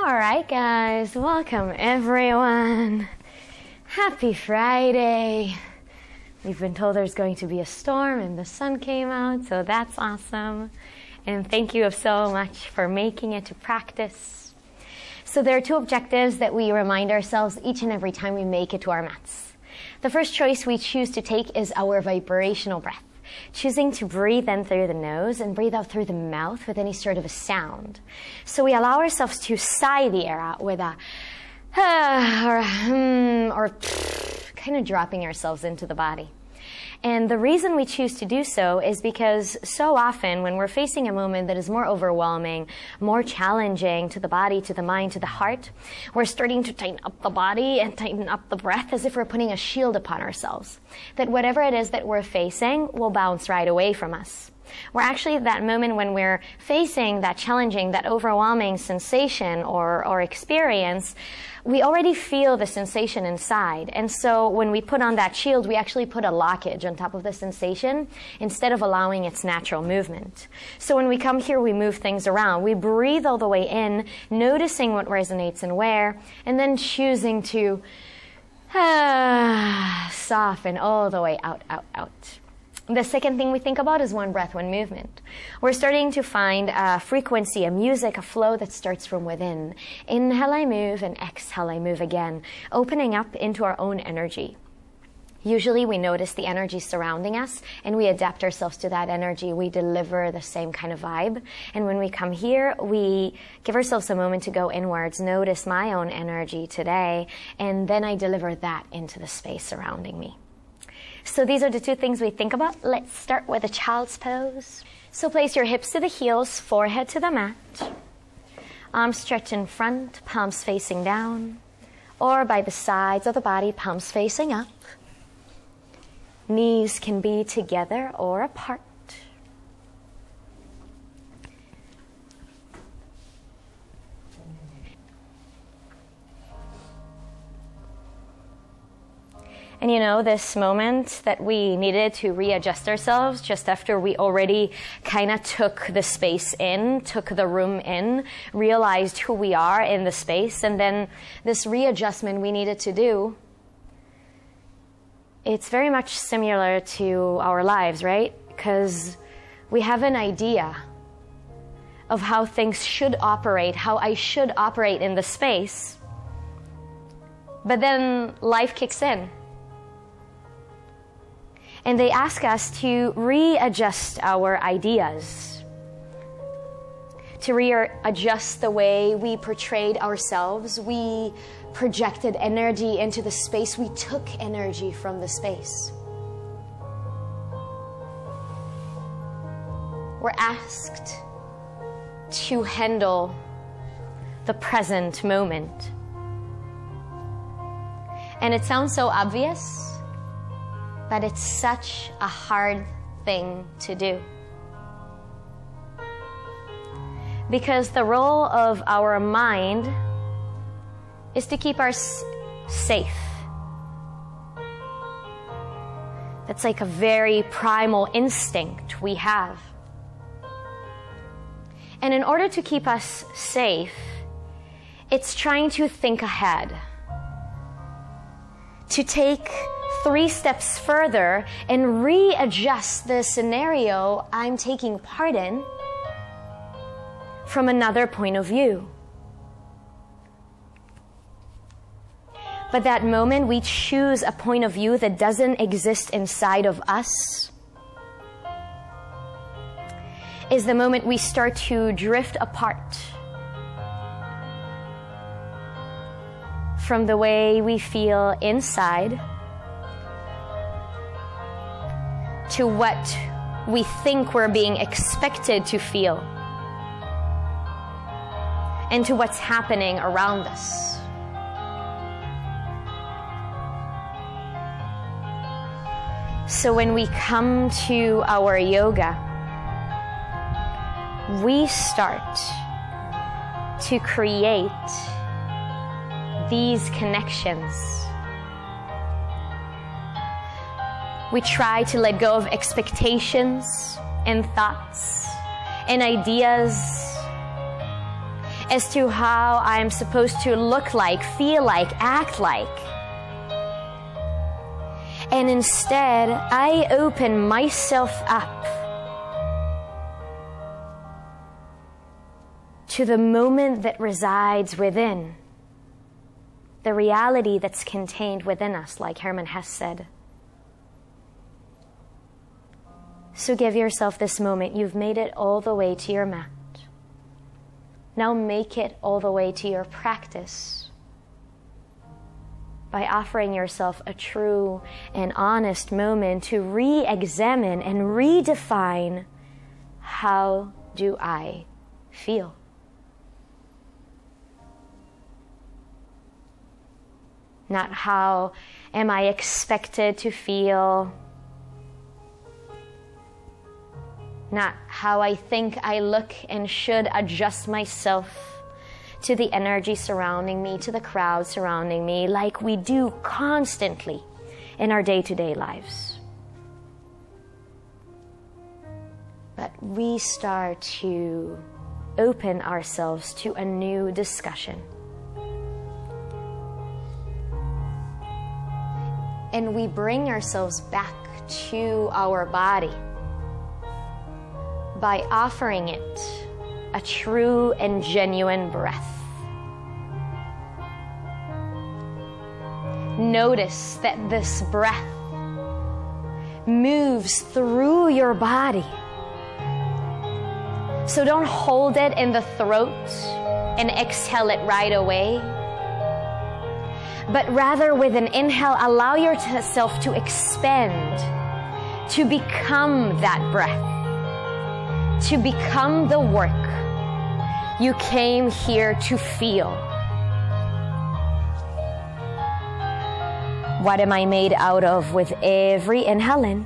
Alright guys, welcome everyone. Happy Friday. We've been told there's going to be a storm and the sun came out, so that's awesome. And thank you so much for making it to practice. So there are two objectives that we remind ourselves each and every time we make it to our mats. The first choice we choose to take is our vibrational breath. Choosing to breathe in through the nose and breathe out through the mouth with any sort of a sound. So we allow ourselves to sigh the air out with a or kind of dropping ourselves into the body. And the reason we choose to do so is because so often when we're facing a moment that is more overwhelming, more challenging to the body, to the mind, to the heart, we're starting to tighten up the body and tighten up the breath as if we're putting a shield upon ourselves. That whatever it is that we're facing will bounce right away from us. We're actually at that moment when we're facing that challenging, that overwhelming sensation or experience, we already feel the sensation inside. And so when we put on that shield, we actually put a blockage on top of the sensation instead of allowing its natural movement. So when we come here, we move things around. We breathe all the way in, noticing what resonates and where, and then choosing to soften all the way out, out, out. The second thing we think about is one breath, one movement. We're starting to find a frequency, a music, a flow that starts from within. Inhale, I move, and exhale, I move again, opening up into our own energy. Usually we notice the energy surrounding us, and we adapt ourselves to that energy. We deliver the same kind of vibe. And when we come here, we give ourselves a moment to go inwards, notice my own energy today, and then I deliver that into the space surrounding me. So these are the two things we think about. Let's start with a child's pose. So place your hips to the heels, forehead to the mat. Arms stretched in front, palms facing down, or by the sides of the body, palms facing up. Knees can be together or apart. And you know, this moment that we needed to readjust ourselves just after we already kind of took the space in, took the room in, realized who we are in the space, and then this readjustment we needed to do, it's very much similar to our lives, right? Because we have an idea of how things should operate, how I should operate in the space, but then life kicks in. And they ask us to readjust our ideas, to readjust the way we portrayed ourselves. We projected energy into the space. We took energy from the space. We're asked to handle the present moment. And it sounds so obvious, but it's such a hard thing to do. Because the role of our mind is to keep us safe. That's like a very primal instinct we have. And in order to keep us safe, it's trying to think ahead, to take 3 steps further and readjust the scenario I'm taking part in from another point of view. But that moment we choose a point of view that doesn't exist inside of us is the moment we start to drift apart from the way we feel inside to what we think we're being expected to feel, and to what's happening around us. So when we come to our yoga, we start to create these connections. We try to let go of expectations and thoughts and ideas as to how I'm supposed to look like, feel like, act like. And instead, I open myself up to the moment that resides within, the reality that's contained within us, like Hermann Hesse said. So give yourself this moment. You've made it all the way to your mat. Now make it all the way to your practice by offering yourself a true and honest moment to re-examine and redefine, how do I feel? Not how am I expected to feel, not how I think I look and should adjust myself to the energy surrounding me, to the crowd surrounding me, like we do constantly in our day-to-day lives. But we start to open ourselves to a new discussion. And we bring ourselves back to our body by offering it a true and genuine breath. Notice that this breath moves through your body. So don't hold it in the throat and exhale it right away. But rather, with an inhale, allow yourself to expand, to become that breath, to become the work you came here to feel. What am I made out of with every inhale in?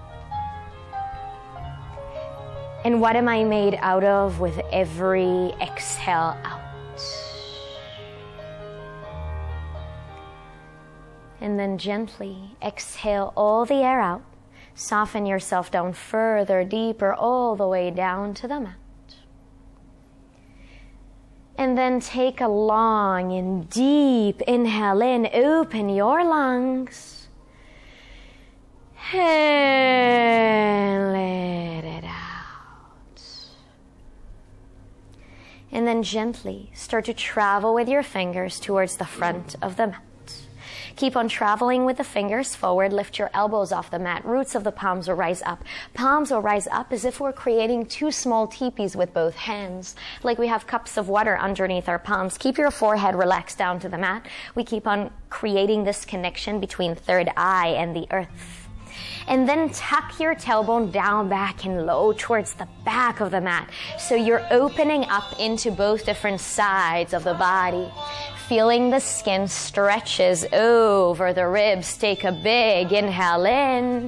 And what am I made out of with every exhale out? And then gently exhale all the air out. Soften yourself down further, deeper, all the way down to the mat. And then take a long and deep inhale in. Open your lungs. And let it out. And then gently start to travel with your fingers towards the front of the mat. Keep on traveling with the fingers forward. Lift your elbows off the mat. Roots of the palms will rise up. Palms will rise up as if we're creating two small teepees with both hands, like we have cups of water underneath our palms. Keep your forehead relaxed down to the mat. We keep on creating this connection between third eye and the earth. And then tuck your tailbone down, back, and low towards the back of the mat. So you're opening up into both different sides of the body. Feeling the skin stretches over the ribs. Take a big inhale in.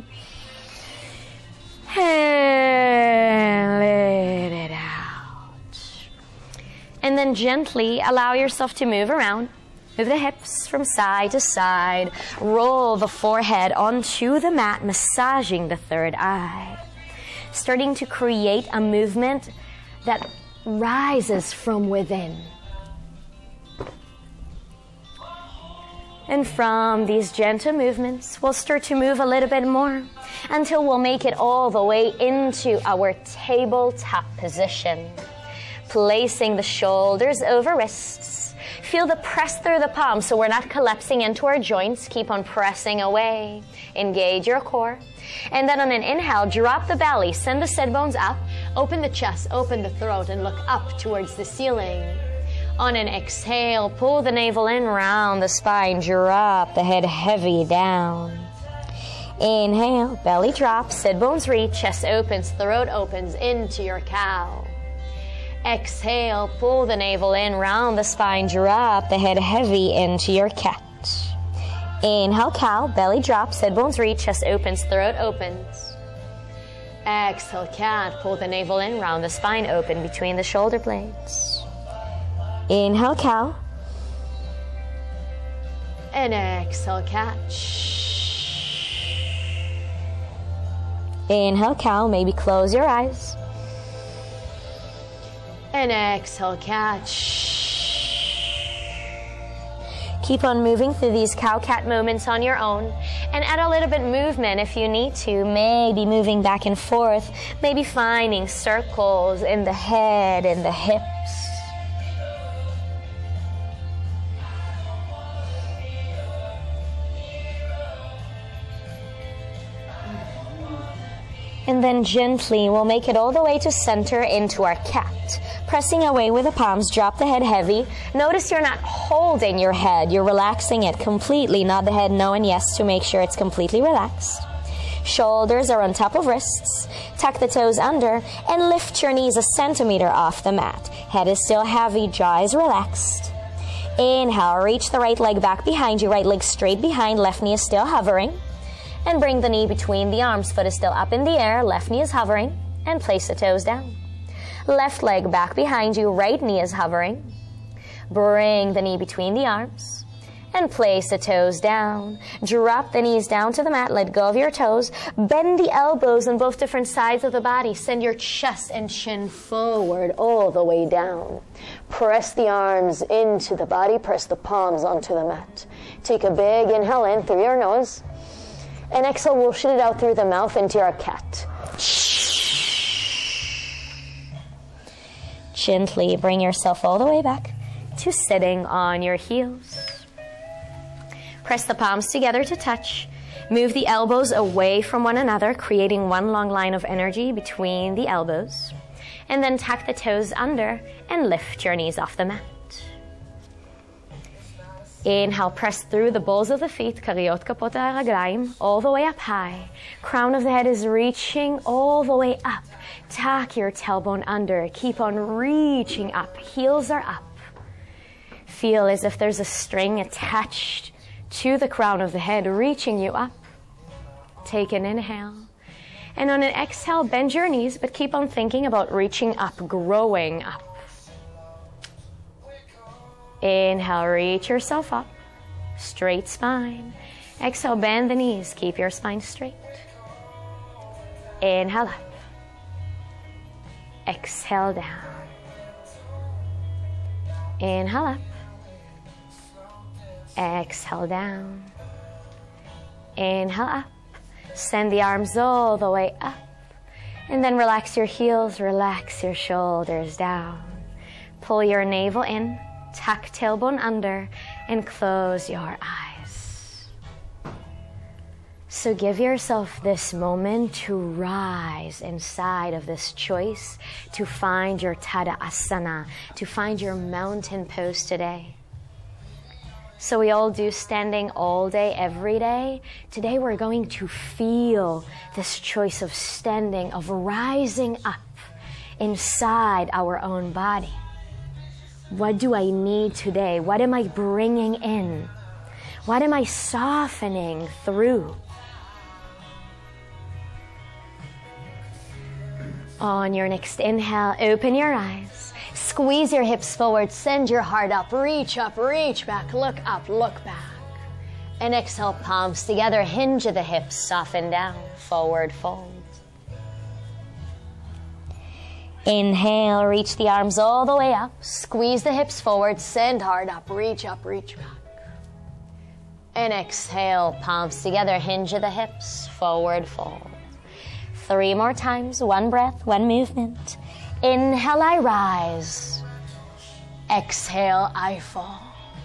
And let it out. And then gently allow yourself to move around. Move the hips from side to side. Roll the forehead onto the mat, massaging the third eye. Starting to create a movement that rises from within. And from these gentle movements, we'll start to move a little bit more until we'll make it all the way into our tabletop position. Placing the shoulders over wrists. Feel the press through the palms so we're not collapsing into our joints. Keep on pressing away. Engage your core. And then on an inhale, drop the belly. Send the sit bones up. Open the chest, open the throat, and look up towards the ceiling. On an exhale, pull the navel in, round the spine. Drop the head heavy down. Inhale, belly drops, sit bones reach, chest opens, throat opens into your cow. Exhale, pull the navel in, round the spine, drop the head heavy into your cat. Inhale, cow, belly drops, sit bones reach, chest opens, throat opens. Exhale, cat, pull the navel in, round the spine, open between the shoulder blades. Inhale, cow. And exhale, cat. Inhale, cow, maybe close your eyes. And exhale, catch. Keep on moving through these cow-cat movements on your own, and add a little bit movement if you need to, maybe moving back and forth, maybe finding circles in the head and the hips. And then gently, we'll make it all the way to center into our cat. Pressing away with the palms, drop the head heavy. Notice you're not holding your head, you're relaxing it completely. Nod the head no and yes to make sure it's completely relaxed. Shoulders are on top of wrists. Tuck the toes under and lift your knees a centimeter off the mat. Head is still heavy, jaw is relaxed. Inhale, reach the right leg back behind you, right leg straight behind, left knee is still hovering. And bring the knee between the arms, foot is still up in the air, left knee is hovering, and place the toes down. Left leg back behind you, right knee is hovering. Bring the knee between the arms, and place the toes down. Drop the knees down to the mat, let go of your toes. Bend the elbows on both different sides of the body. Send your chest and chin forward all the way down. Press the arms into the body, press the palms onto the mat. Take a big inhale in through your nose. And exhale, we'll shit it out through the mouth into our cat. Gently bring yourself all the way back to sitting on your heels. Press the palms together to touch. Move the elbows away from one another, creating one long line of energy between the elbows. And then tuck the toes under and lift your knees off the mat. Inhale, press through the balls of the feet, kariyot kapot haraglayim, all the way up high. Crown of the head is reaching all the way up. Tuck your tailbone under. Keep on reaching up. Heels are up. Feel as if there's a string attached to the crown of the head, reaching you up. Take an inhale. And on an exhale, bend your knees, but keep on thinking about reaching up, growing up. Inhale, reach yourself up, straight spine. Exhale, bend the knees, keep your spine straight. Inhale up. Exhale down. Inhale up. Exhale down. Inhale up. Send the arms all the way up. And then relax your heels, relax your shoulders down. Pull your navel in. Tuck tailbone under and close your eyes. So give yourself this moment to rise inside of this choice, to find your Tadasana, to find your mountain pose today. So we all do standing all day, every day. Today we're going to feel this choice of standing, of rising up inside our own body. What do I need today? What am I bringing in? What am I softening through? On your next inhale, open your eyes. Squeeze your hips forward. Send your heart up. Reach back. Look up, look back. And exhale, palms together. Hinge the hips. Soften down. Forward fold. Inhale, reach the arms all the way up. Squeeze the hips forward, send heart up, reach back. And exhale, palms together, hinge the hips, forward fold. 3 more times, 1 breath, 1 movement. Inhale, I rise. Exhale, I fall.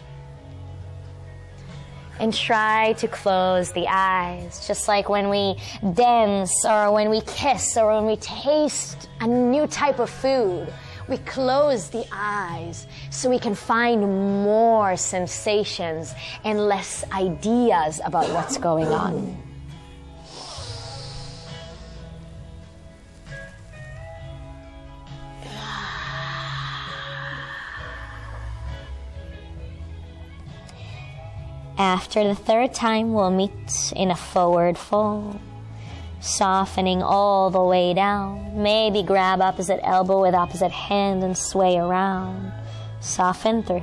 And try to close the eyes, just like when we dance or when we kiss or when we taste a new type of food. We close the eyes so we can find more sensations and less ideas about what's going on. After the 3rd time, we'll meet in a forward fold, softening all the way down. Maybe grab opposite elbow with opposite hand and sway around. Soften through.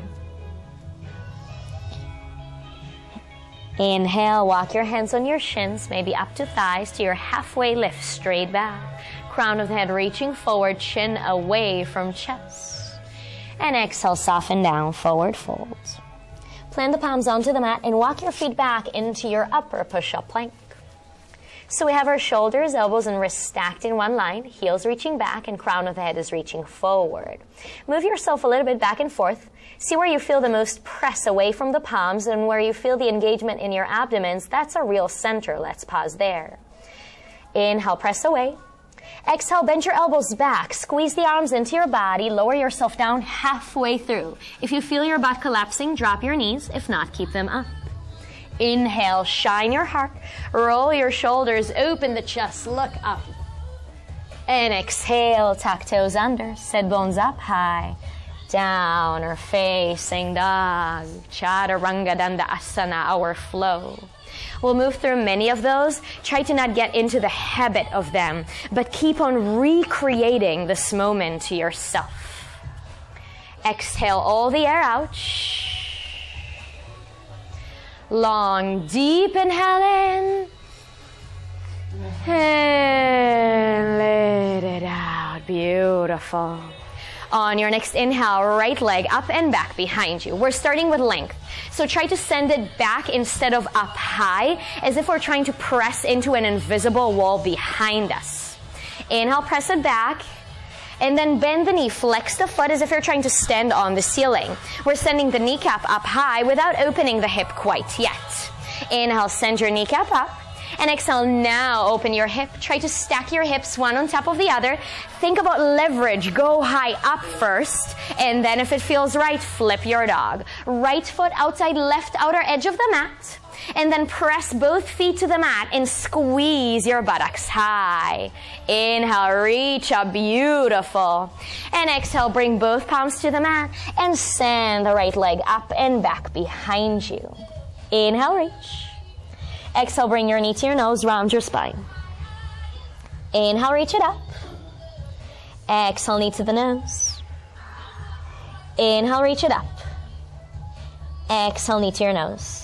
Inhale, walk your hands on your shins, maybe up to thighs, to your halfway lift, straight back. Crown of the head reaching forward, chin away from chest. And exhale, soften down, forward fold. Plant the palms onto the mat and walk your feet back into your upper push-up plank. So we have our shoulders, elbows, and wrists stacked in one line, heels reaching back, and crown of the head is reaching forward. Move yourself a little bit back and forth. See where you feel the most press away from the palms and where you feel the engagement in your abdomens. That's a real center. Let's pause there. Inhale, press away. Exhale, bend your elbows back. Squeeze the arms into your body. Lower yourself down halfway through. If you feel your butt collapsing, drop your knees. If not, keep them up. Inhale, shine your heart. Roll your shoulders, open the chest, look up. And exhale, tuck toes under, sit bones up high. Down or facing dog. Chaturanga Dandasana, our flow. We'll move through many of those. Try to not get into the habit of them, but keep on recreating this moment to yourself. Exhale all the air out. Long, deep inhale in. And let it out. Beautiful. On your next inhale, right leg up and back behind you. We're starting with length. So try to send it back instead of up high, as if we're trying to press into an invisible wall behind us. Inhale, press it back. And then bend the knee, flex the foot as if you're trying to stand on the ceiling. We're sending the kneecap up high without opening the hip quite yet. Inhale, send your kneecap up. And exhale, now open your hip. Try to stack your hips one on top of the other. Think about leverage. Go high up first. And then if it feels right, flip your dog. Right foot outside left outer edge of the mat. And then press both feet to the mat and squeeze your buttocks high. Inhale, reach up, beautiful. And exhale, bring both palms to the mat and send the right leg up and back behind you. Inhale, reach. Exhale, bring your knee to your nose, round your spine. Inhale, reach it up. Exhale, knee to the nose. Inhale, reach it up. Exhale, knee to your nose.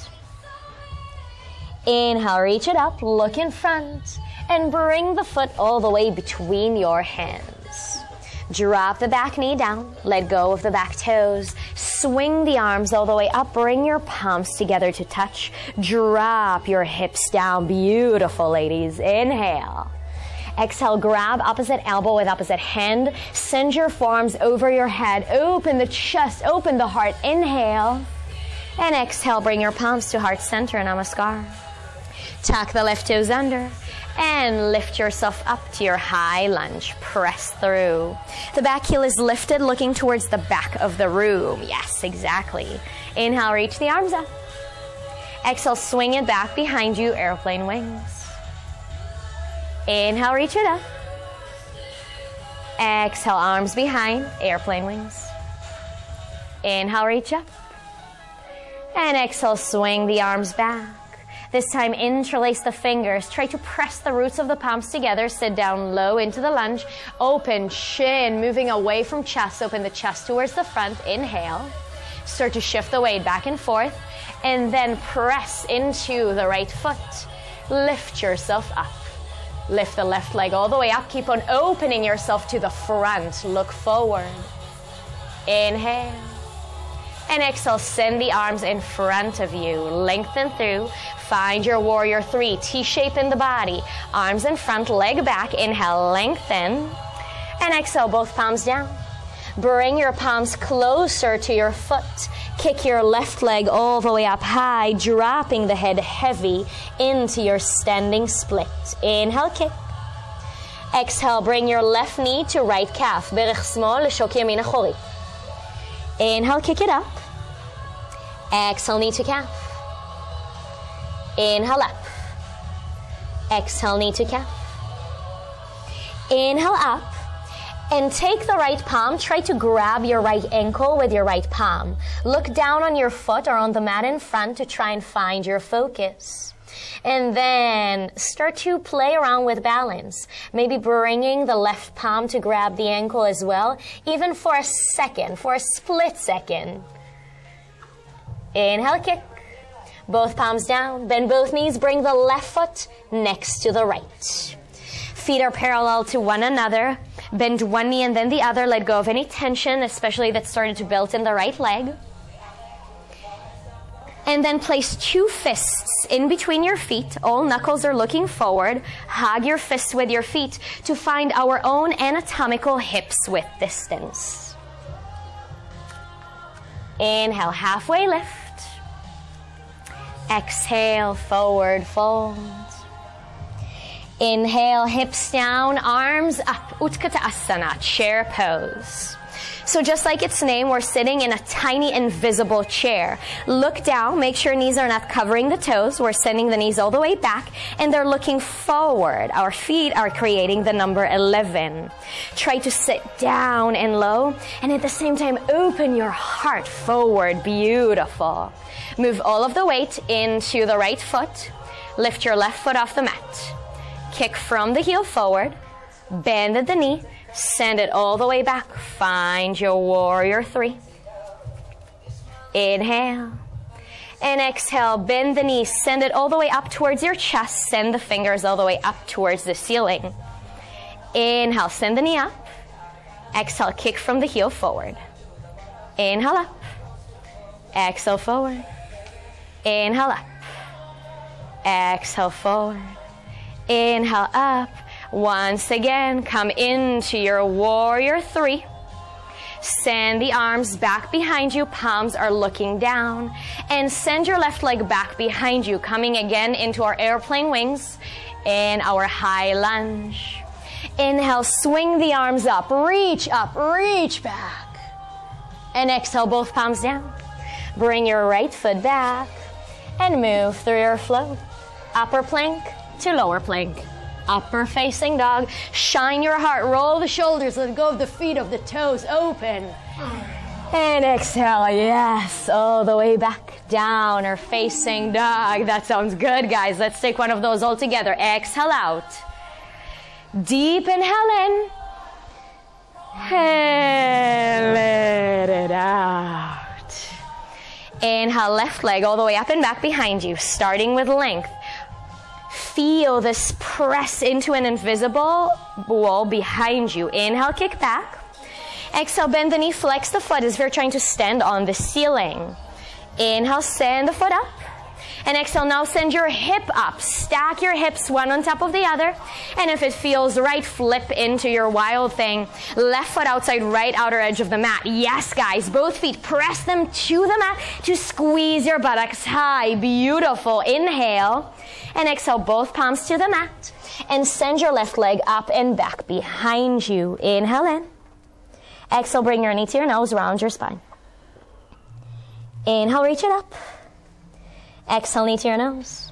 Inhale, reach it up, look in front, and bring the foot all the way between your hands. Drop the back knee down, let go of the back toes, swing the arms all the way up, bring your palms together to touch, drop your hips down, beautiful ladies, inhale. Exhale, grab opposite elbow with opposite hand, send your forearms over your head, open the chest, open the heart, inhale, and exhale, bring your palms to heart center, namaskar. Tuck the left toes under and lift yourself up to your high lunge. Press through. The back heel is lifted, looking towards the back of the room. Yes, exactly. Inhale, reach the arms up. Exhale, swing it back behind you, airplane wings. Inhale, reach it up. Exhale, arms behind, airplane wings. Inhale, reach up. And exhale, swing the arms back. This time, interlace the fingers. Try to press the roots of the palms together. Sit down low into the lunge. Open chin, moving away from chest. Open the chest towards the front. Inhale. Start to shift the weight back and forth. And then press into the right foot. Lift yourself up. Lift the left leg all the way up. Keep on opening yourself to the front. Look forward. Inhale. And exhale, send the arms in front of you. Lengthen through. Find your warrior three. T-shape in the body. Arms in front, leg back. Inhale, lengthen. And exhale, both palms down. Bring your palms closer to your foot. Kick your left leg all the way up high, dropping the head heavy into your standing split. Inhale, kick. Exhale, bring your left knee to right calf. Berech smol, l'shok yamin achori. Inhale, kick it up. Exhale, knee to calf. Inhale up. Exhale, knee to calf. Inhale up. And take the right palm. Try to grab your right ankle with your right palm. Look down on your foot or on the mat in front to try and find your focus. And then start to play around with balance. Maybe bringing the left palm to grab the ankle as well, even for a second, for a split second. Inhale, kick. Both palms down. Bend both knees. Bring the left foot next to the right. Feet are parallel to one another. Bend one knee and then the other. Let go of any tension, especially that started to build in the right leg. And then place 2 fists in between your feet. All knuckles are looking forward. Hug your fists with your feet to find our own anatomical hips width distance. Inhale, halfway lift. Exhale, forward fold. Inhale, hips down, arms up. Utkatasana, chair pose. So just like its name, we're sitting in a tiny invisible chair. Look down, make sure knees are not covering the toes. We're sending the knees all the way back, and they're looking forward. Our feet are creating the number 11. Try to sit down and low, and at the same time, open your heart forward. Beautiful. Move all of the weight into the right foot. Lift your left foot off the mat. Kick from the heel forward. Bend at the knee. Send it all the way back. Find your warrior 3. Inhale. And exhale. Bend the knees. Send it all the way up towards your chest. Send the fingers all the way up towards the ceiling. Inhale. Send the knee up. Exhale. Kick from the heel forward. Inhale up. Exhale forward. Inhale up. Exhale forward. Inhale up. Once again, come into your warrior 3. Send the arms back behind you. Palms are looking down. And send your left leg back behind you, coming again into our airplane wings in our high lunge. Inhale, swing the arms up, reach back. And exhale, both palms down. Bring your right foot back and move through your flow. Upper plank to lower plank. Upper facing dog. Shine your heart. Roll the shoulders. Let go of the feet, of the toes. Open. And exhale. Yes. All the way back down or facing dog. That sounds good, guys. Let's take one of those all together. Exhale out. Deep inhale in. And let it out. Inhale, left leg all the way up and back behind you, starting with length. Feel this press into an invisible wall behind you. Inhale, kick back. Exhale, bend the knee, flex the foot as if you're trying to stand on the ceiling. Inhale, send the foot up. And exhale, now send your hip up. Stack your hips one on top of the other. And if it feels right, flip into your wild thing. Left foot outside, right outer edge of the mat. Yes, guys, both feet, press them to the mat to squeeze your buttocks high. Beautiful. Inhale. And exhale, both palms to the mat. And send your left leg up and back behind you. Inhale in. Exhale, bring your knee to your nose, round your spine. Inhale, reach it up. Exhale, knee to your nose.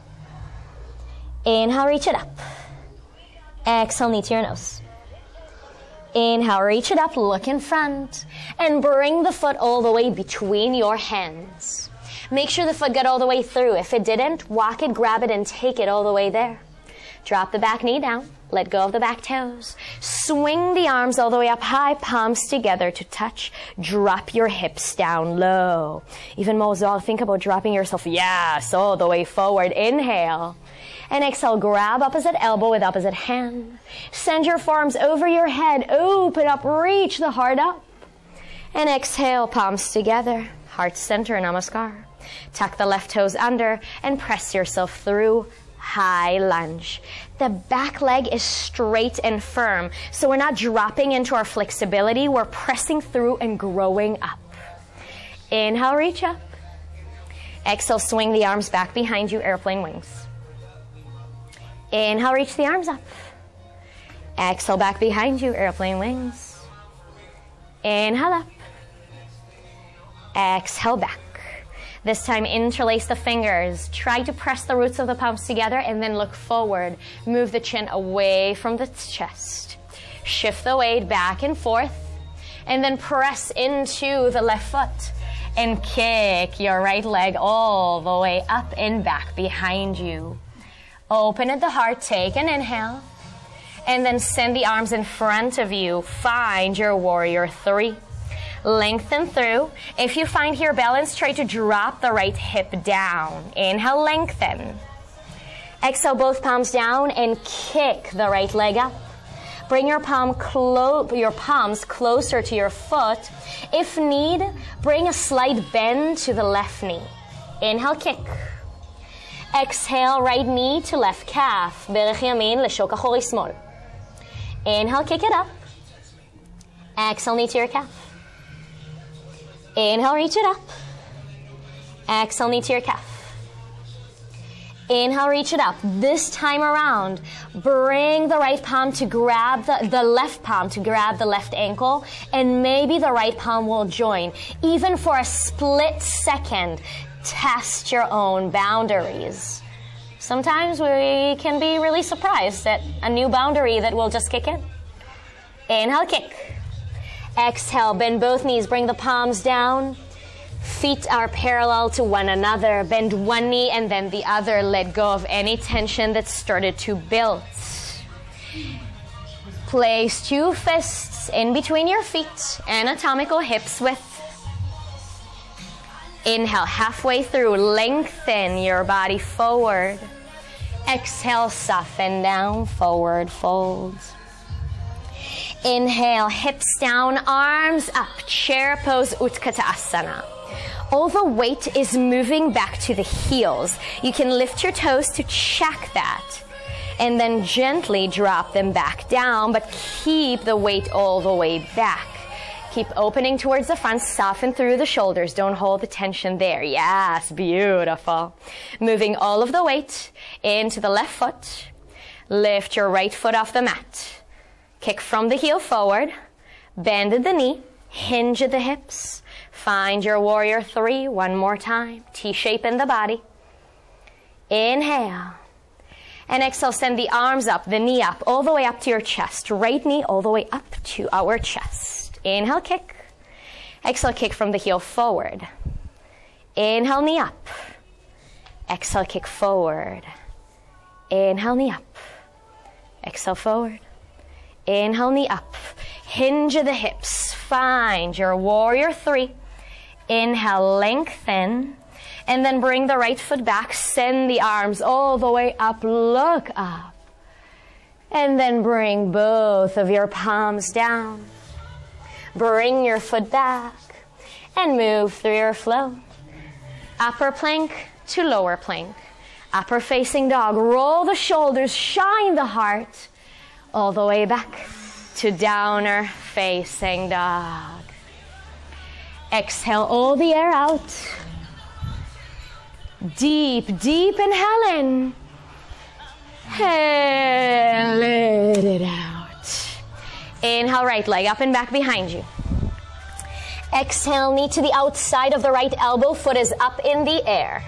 Inhale, reach it up. Exhale, knee to your nose. Inhale, reach it up, look in front. And bring the foot all the way between your hands. Make sure the foot got all the way through. If it didn't, walk it, grab it, and take it all the way there. Drop the back knee down. Let go of the back toes. Swing the arms all the way up high, palms together to touch. Drop your hips down low. Even Mozal, think about dropping yourself, yes, all the way forward. Inhale. And exhale, grab opposite elbow with opposite hand. Send your forearms over your head. Open up, reach the heart up. And exhale, palms together. Heart center, namaskar. Tuck the left toes under and press yourself through. High lunge. The back leg is straight and firm, so we're not dropping into our flexibility. We're pressing through and growing up. Inhale, reach up. Exhale, swing the arms back behind you, airplane wings. Inhale, reach the arms up. Exhale, back behind you, airplane wings. Inhale up. Exhale, back. This time, interlace the fingers. Try to press the roots of the palms together and then look forward. Move the chin away from the chest. Shift the weight back and forth. And then press into the left foot. And kick your right leg all the way up and back behind you. Open at the heart. Take an inhale. And then send the arms in front of you. Find your warrior 3. Lengthen through. If you find here balance, try to drop the right hip down. Inhale, lengthen. Exhale, both palms down and kick the right leg up. Bring your palms closer to your foot. If need, bring a slight bend to the left knee. Inhale, kick. Exhale, right knee to left calf. Berech yamin לשוק אחורי שמאל. Inhale, kick it up. Exhale, knee to your calf. Inhale, reach it up. Exhale, knee to your calf. Inhale, reach it up. This time around, bring the right palm to grab the left palm to grab the left ankle, and maybe the right palm will join. Even for a split second, test your own boundaries. Sometimes we can be really surprised at a new boundary that will just kick in. Inhale, kick. Exhale, bend both knees, bring the palms down. Feet are parallel to one another. Bend one knee and then the other. Let go of any tension that started to build. Place two fists in between your feet, anatomical hips width. Inhale, halfway through, lengthen your body forward. Exhale, soften down, forward fold. Inhale, hips down, arms up, chair pose, Utkatasana. All the weight is moving back to the heels. You can lift your toes to check that. And then gently drop them back down, but keep the weight all the way back. Keep opening towards the front, soften through the shoulders. Don't hold the tension there. Yes, beautiful. Moving all of the weight into the left foot. Lift your right foot off the mat. Kick from the heel forward. Bend at the knee. Hinge at the hips. Find your warrior three one more time. T-shape in the body. Inhale. And exhale, send the arms up, the knee up, all the way up to your chest. Right knee all the way up to our chest. Inhale, kick. Exhale, kick from the heel forward. Inhale, knee up. Exhale, kick forward. Inhale, knee up. Exhale, forward. Inhale, knee up. Hinge of the hips. Find your warrior three. Inhale, lengthen. And then bring the right foot back. Send the arms all the way up. Look up. And then bring both of your palms down. Bring your foot back. And move through your flow. Upper plank to lower plank. Upper facing dog. Roll the shoulders. Shine the heart. All the way back to downer facing dog. Exhale all the air out. Deep, deep inhale in. And let it out. Inhale, right leg up and back behind you. Exhale, knee to the outside of the right elbow. Foot is up in the air.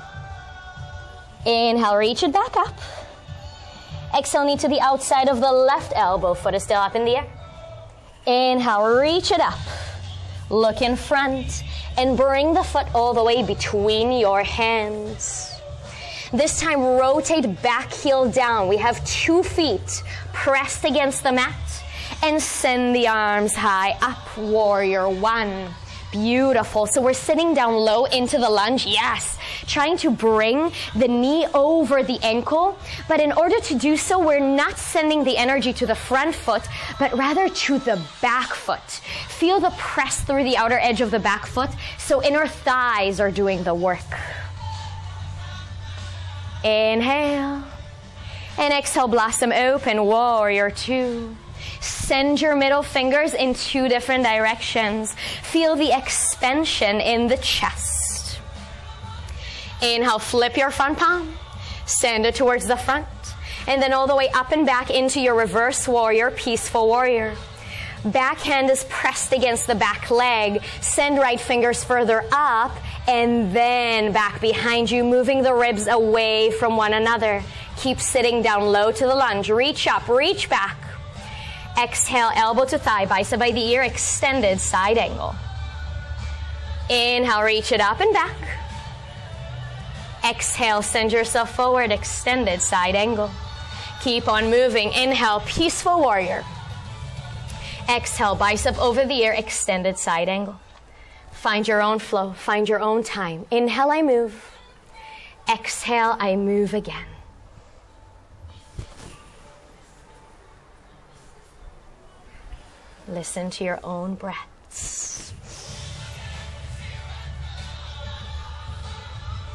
Inhale, reach it back up. Exhale, knee to the outside of the left elbow. Foot is still up in the air. Inhale, reach it up. Look in front and bring the foot all the way between your hands. This time, rotate back heel down. We have 2 feet pressed against the mat and send the arms high up. Warrior one. Beautiful. So we're sitting down low into the lunge. Yes. Trying to bring the knee over the ankle. But in order to do so, we're not sending the energy to the front foot, but rather to the back foot. Feel the press through the outer edge of the back foot. So inner thighs are doing the work. Inhale. And exhale, blossom open. Warrior two. Send your middle fingers in 2 different directions. Feel the expansion in the chest. Inhale, flip your front palm. Send it towards the front. And then all the way up and back into your reverse warrior, peaceful warrior. Back hand is pressed against the back leg. Send right fingers further up and then back behind you, moving the ribs away from one another. Keep sitting down low to the lunge. Reach up, reach back. Exhale, elbow to thigh, bicep by the ear, extended side angle. Inhale, reach it up and back. Exhale, send yourself forward, extended side angle. Keep on moving. Inhale, peaceful warrior. Exhale, bicep over the ear, extended side angle. Find your own flow, find your own time. Inhale, I move. Exhale, I move again. Listen to your own breaths.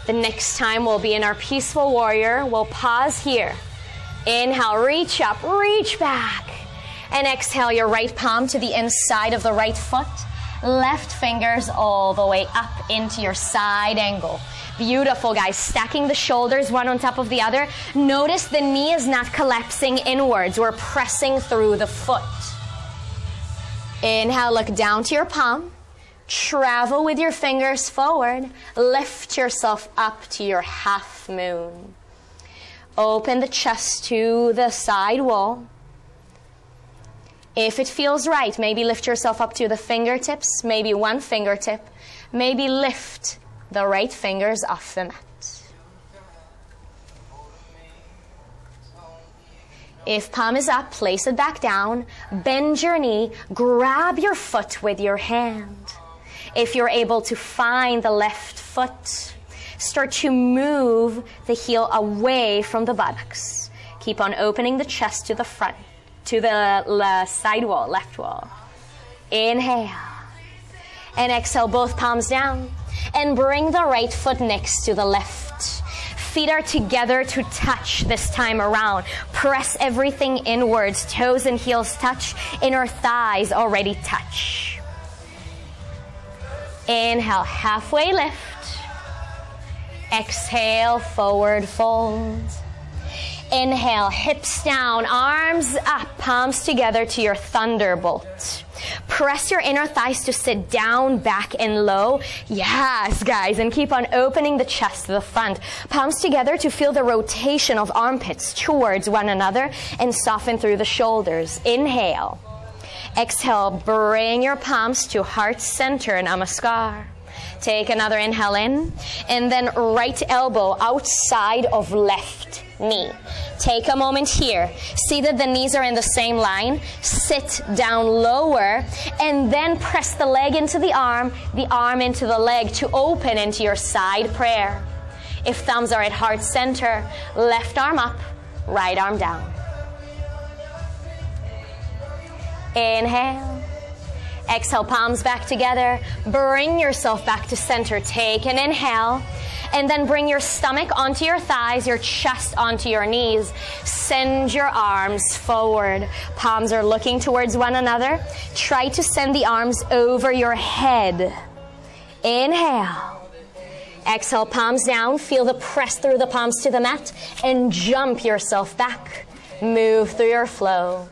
The next time we'll be in our peaceful warrior. We'll pause here. Inhale, reach up, reach back. And exhale your right palm to the inside of the right foot. Left fingers all the way up into your side angle. Beautiful, guys. Stacking the shoulders one on top of the other. Notice the knee is not collapsing inwards. We're pressing through the foot. Inhale, look down to your palm. Travel with your fingers forward. Lift yourself up to your half moon. Open the chest to the side wall. If it feels right, maybe lift yourself up to the fingertips, maybe one fingertip. Maybe lift the right fingers off the mat. If palm is up, place it back down. Bend your knee. Grab your foot with your hand. If you're able to find the left foot, start to move the heel away from the buttocks. Keep on opening the chest to the front, to the side wall, left wall. Inhale. And exhale, both palms down. And bring the right foot next to the left. Feet are together to touch this time around. Press everything inwards. Toes and heels touch. Inner thighs already touch. Inhale, halfway lift. Exhale, forward fold. Inhale, hips down, arms up, palms together to your thunderbolt. Press your inner thighs to sit down, back and low. Yes, guys, and keep on opening the chest to the front. Palms together to feel the rotation of armpits towards one another and soften through the shoulders. Inhale. Exhale, bring your palms to heart center, Namaskar. Take another inhale in, and then right elbow outside of left knee. Take a moment here. See that the knees are in the same line. Sit down lower, and then press the leg into the arm into the leg to open into your side prayer. If thumbs are at heart center, left arm up, right arm down. Inhale. Exhale, palms back together. Bring yourself back to center. Take an inhale. And then bring your stomach onto your thighs, your chest onto your knees. Send your arms forward. Palms are looking towards one another. Try to send the arms over your head. Inhale. Exhale, palms down. Feel the press through the palms to the mat. And jump yourself back. Move through your flow.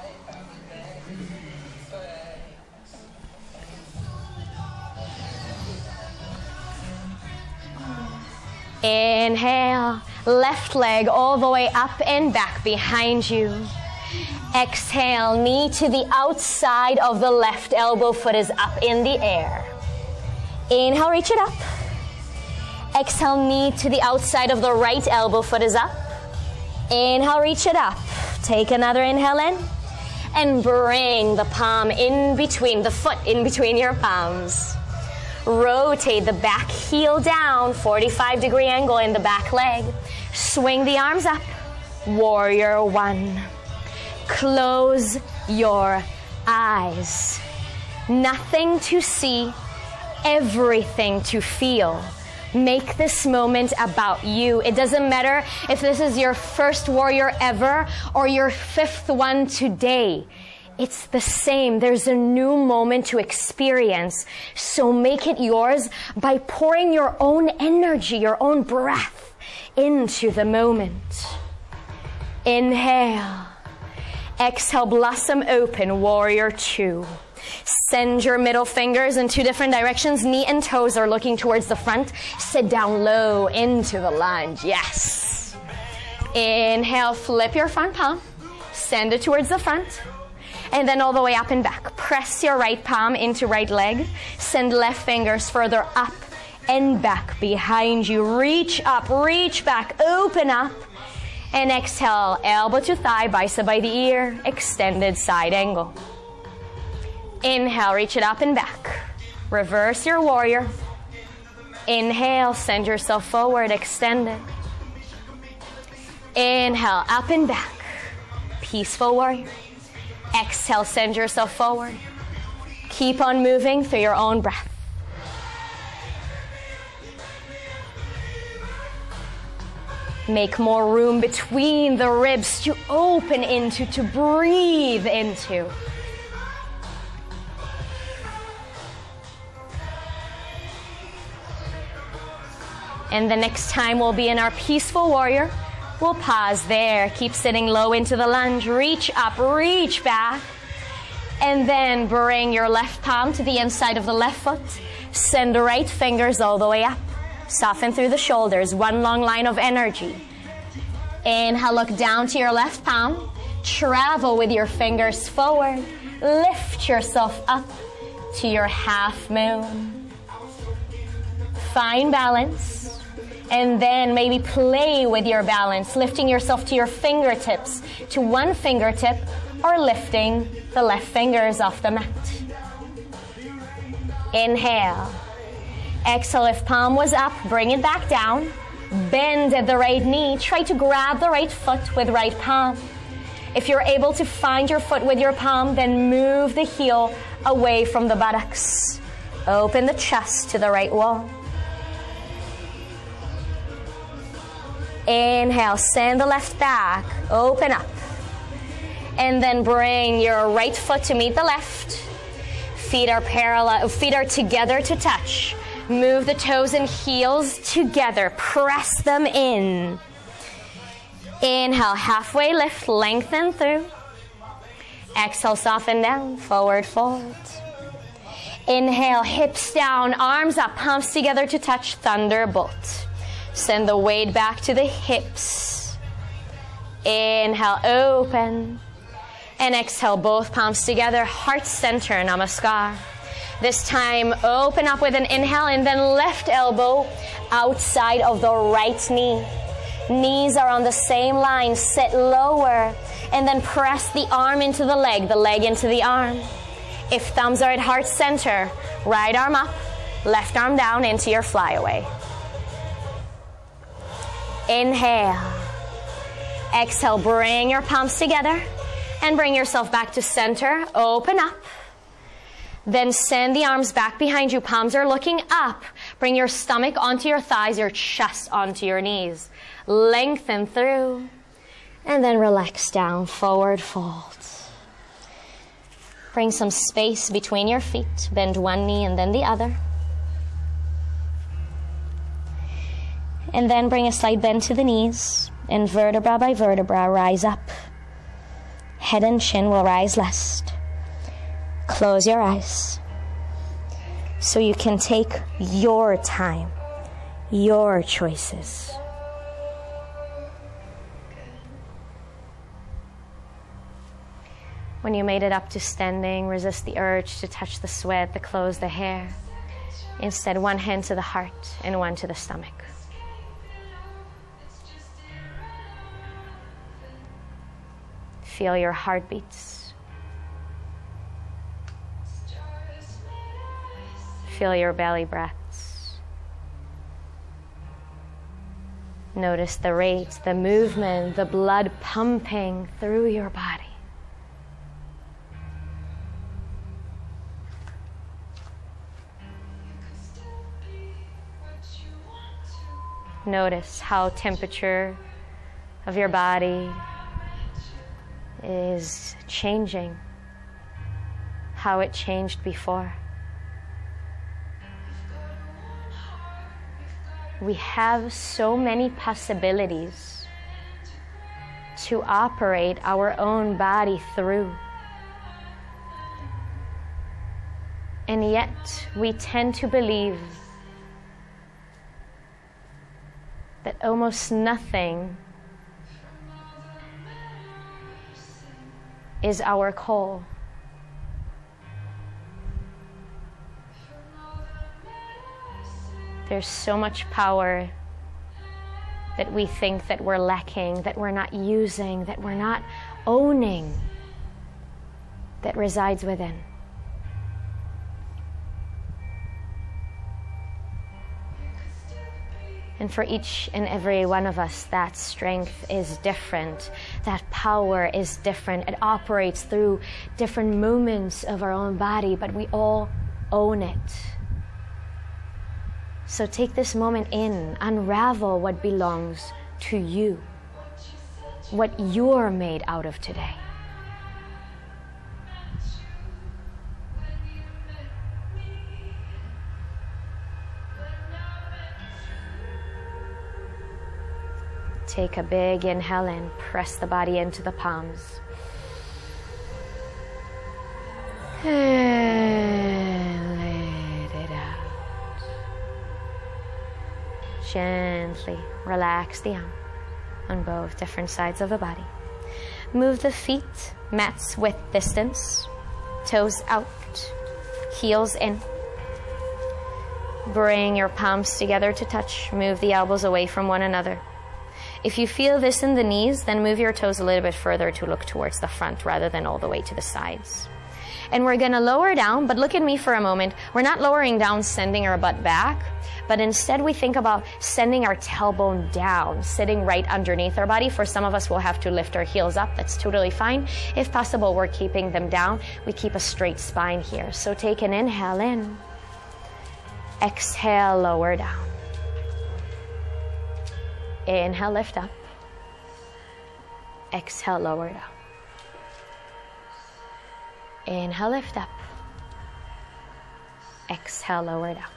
Inhale, left leg all the way up and back behind you. Exhale, knee to the outside of the left elbow, foot is up in the air. Inhale, reach it up. Exhale, knee to the outside of the right elbow, foot is up. Inhale, reach it up. Take another inhale in. And bring the palm in between, the foot in between your palms. Rotate the back heel down, 45-degree angle in the back leg. Swing the arms up. Warrior one. Close your eyes. Nothing to see, everything to feel. Make this moment about you. It doesn't matter if this is your first warrior ever or your fifth one today. It's the same. There's a new moment to experience. So make it yours by pouring your own energy, your own breath into the moment. Inhale. Exhale, blossom open, warrior two. Send your middle fingers in two different directions. Knee and toes are looking towards the front. Sit down low into the lunge. Yes. Inhale, flip your front palm. Send it towards the front. And then all the way up and back. Press your right palm into right leg. Send left fingers further up and back behind you. Reach up, reach back, open up. And exhale, elbow to thigh, bicep by the ear, extended side angle. Inhale, reach it up and back. Reverse your warrior. Inhale, send yourself forward, extend it. Inhale, up and back. Peaceful warrior. Exhale, send yourself forward. Keep on moving through your own breath. Make more room between the ribs to open into, to breathe into. And the next time we'll be in our peaceful warrior, we'll pause there. Keep sitting low into the lunge. Reach up, reach back. And then bring your left palm to the inside of the left foot. Send the right fingers all the way up. Soften through the shoulders. One long line of energy. Inhale, look down to your left palm. Travel with your fingers forward. Lift yourself up to your half moon. Find balance. And then maybe play with your balance, lifting yourself to your fingertips, to one fingertip, or lifting the left fingers off the mat. Inhale. Exhale, if palm was up, bring it back down. Bend at the right knee. Try to grab the right foot with right palm. If you're able to find your foot with your palm, then move the heel away from the buttocks. Open the chest to the right wall. Inhale, send the left back, open up. And then bring your right foot to meet the left. Feet are parallel, feet are together to touch. Move the toes and heels together, press them in. Inhale, halfway lift, lengthen through. Exhale, soften down, forward fold. Inhale, hips down, arms up, palms together to touch, thunderbolt. Send the weight back to the hips. Inhale, open. And exhale, both palms together, heart center, namaskar. This time, open up with an inhale and then left elbow outside of the right knee. Knees are on the same line, sit lower. And then press the arm into the leg into the arm. If thumbs are at heart center, right arm up, left arm down into your flyaway. Inhale. Exhale, bring your palms together and bring yourself back to center. Open up. Then send the arms back behind you. Palms are looking up. Bring your stomach onto your thighs, your chest onto your knees. Lengthen through. And then relax down, forward fold. Bring some space between your feet. Bend one knee and then the other. And then bring a slight bend to the knees. And vertebra by vertebra, rise up. Head and chin will rise last. Close your eyes. So you can take your time, your choices. When you made it up to standing, resist the urge to touch the sweat, the clothes, the hair. Instead, one hand to the heart and one to the stomach. Feel your heartbeats. Feel your belly breaths. Notice the rate, the movement, the blood pumping through your body. Notice how temperature of your body is changing, how it changed before. We have so many possibilities to operate our own body through. And yet we tend to believe that almost nothing is our call. There's so much power that we think that we're lacking, that we're not using, that we're not owning, that resides within. And for each and every one of us, that strength is different. That power is different. It operates through different moments of our own body, but we all own it. So take this moment in, unravel what belongs to you, what you're made out of today. Take a big inhale in, press the body into the palms. And let it out. Gently relax the arm on both different sides of the body. Move the feet, mats width distance, toes out, heels in. Bring your palms together to touch. Move the elbows away from one another. If you feel this in the knees, then move your toes a little bit further to look towards the front rather than all the way to the sides. And we're going to lower down, but look at me for a moment. We're not lowering down, sending our butt back, but instead we think about sending our tailbone down, sitting right underneath our body. For some of us, we'll have to lift our heels up. That's totally fine. If possible, we're keeping them down. We keep a straight spine here. So take an inhale in. Exhale, lower down. Inhale, lift up. Exhale, lower down. Inhale, lift up. Exhale, lower down.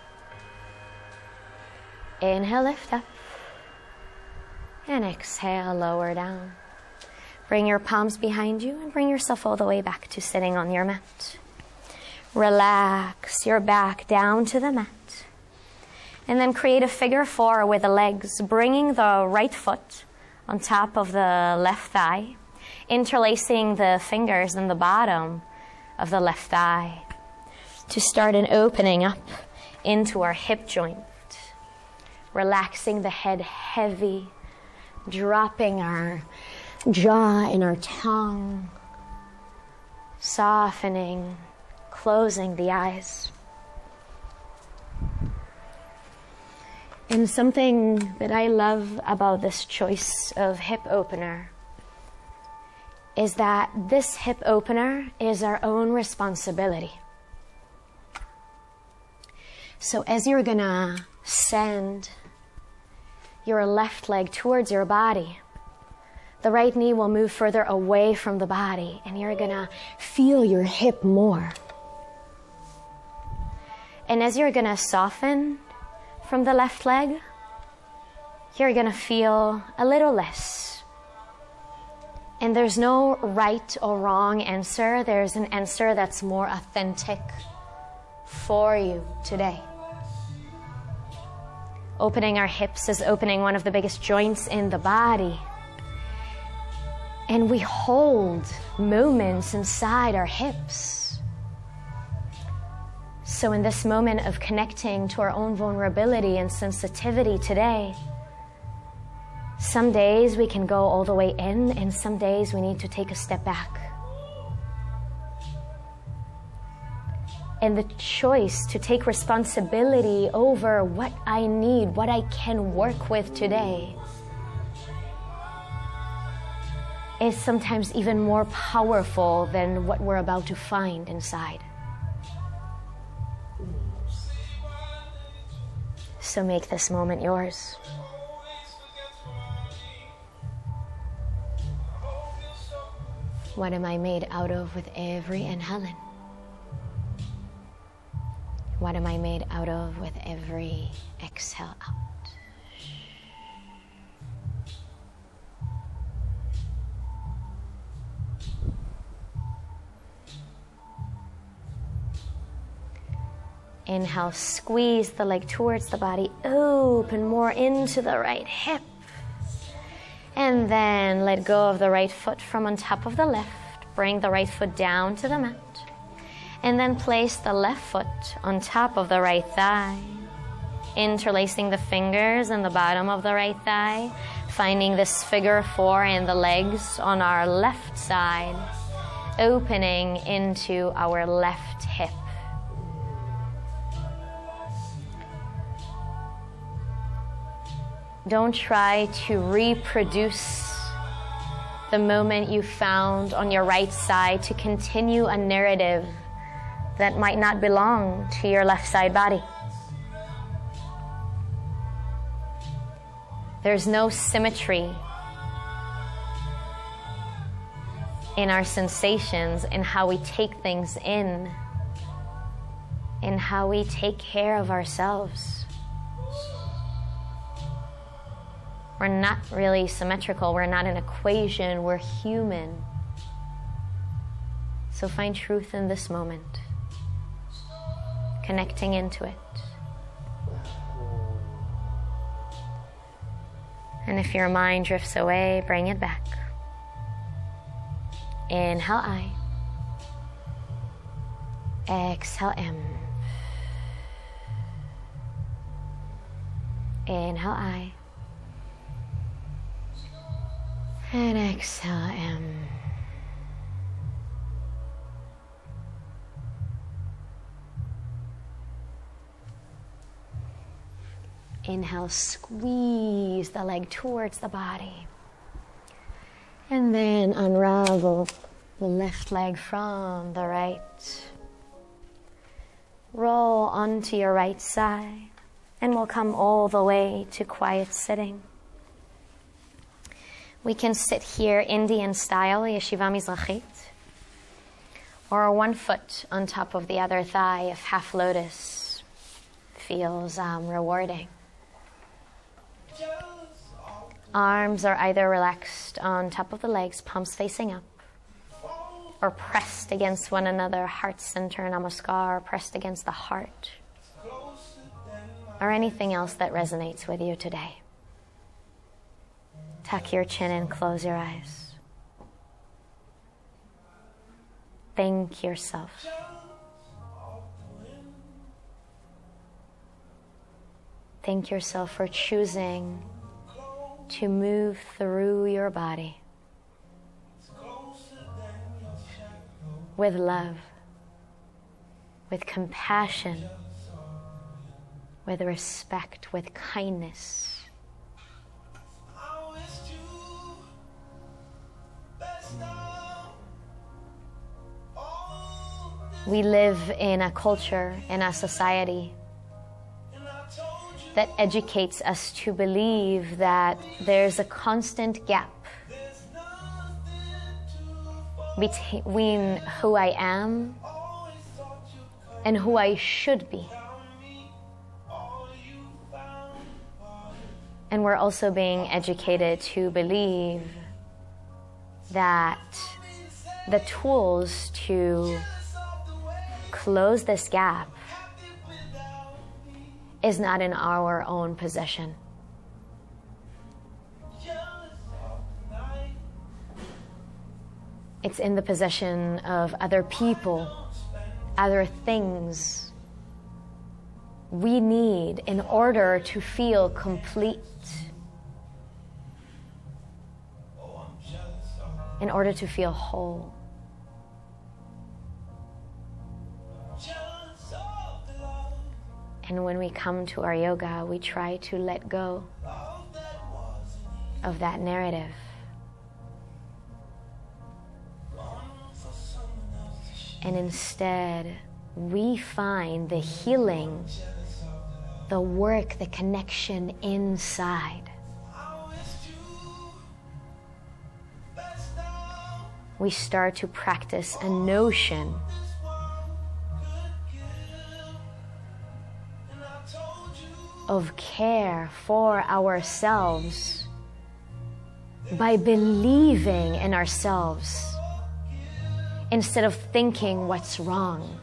Inhale, lift up. And exhale, lower down. Bring your palms behind you and bring yourself all the way back to sitting on your mat. Relax your back down to the mat. And then create a figure four with the legs, bringing the right foot on top of the left thigh, interlacing the fingers in the bottom of the left thigh to start an opening up into our hip joint. Relaxing the head heavy, dropping our jaw and our tongue, softening, closing the eyes. And something that I love about this choice of hip opener is that this hip opener is our own responsibility. So as you're gonna send your left leg towards your body, the right knee will move further away from the body, and you're gonna feel your hip more. And as you're gonna soften from the left leg, you're gonna feel a little less. And there's no right or wrong answer. There's an answer that's more authentic for you today. Opening our hips is opening one of the biggest joints in the body. And we hold moments inside our hips. So in this moment of connecting to our own vulnerability and sensitivity today, some days we can go all the way in, and some days we need to take a step back. And the choice to take responsibility over what I need, what I can work with today, is sometimes even more powerful than what we're about to find inside. So make this moment yours. What am I made out of with every inhale in? What am I made out of with every exhale out? Inhale, squeeze the leg towards the body, open more into the right hip. And then let go of the right foot from on top of the left. Bring the right foot down to the mat. And then place the left foot on top of the right thigh. Interlacing the fingers in the bottom of the right thigh. Finding this figure four and the legs on our left side. Opening into our left hip. Don't try to reproduce the moment you found on your right side to continue a narrative that might not belong to your left side body. There's no symmetry in our sensations, in how we take things in how we take care of ourselves. We're not really symmetrical. We're not an equation. We're human. So find truth in this moment, connecting into it. And if your mind drifts away, bring it back. Inhale I. Exhale M. Inhale I. And exhale M. Inhale, squeeze the leg towards the body. And then unravel the left leg from the right. Roll onto your right side. And we'll come all the way to quiet sitting. We can sit here Indian style, Yeshiva Mizrachit. Or one foot on top of the other thigh if half lotus feels rewarding. Arms are either relaxed on top of the legs, palms facing up, or pressed against one another, heart center, namaskar, pressed against the heart, or anything else that resonates with you today. Tuck your chin and close your eyes. Thank yourself. Thank yourself for choosing to move through your body with love, with compassion, with respect, with kindness. We live in a culture, in a society that educates us to believe that there's a constant gap between who I am and who I should be. And we're also being educated to believe that the tools to close this gap is not in our own possession. It's in the possession of other people, other things we need in order to feel complete, in order to feel whole. And when we come to our yoga, we try to let go of that narrative. And instead, we find the healing, the work, the connection inside. We start to practice a notion of care for ourselves by believing in ourselves instead of thinking what's wrong.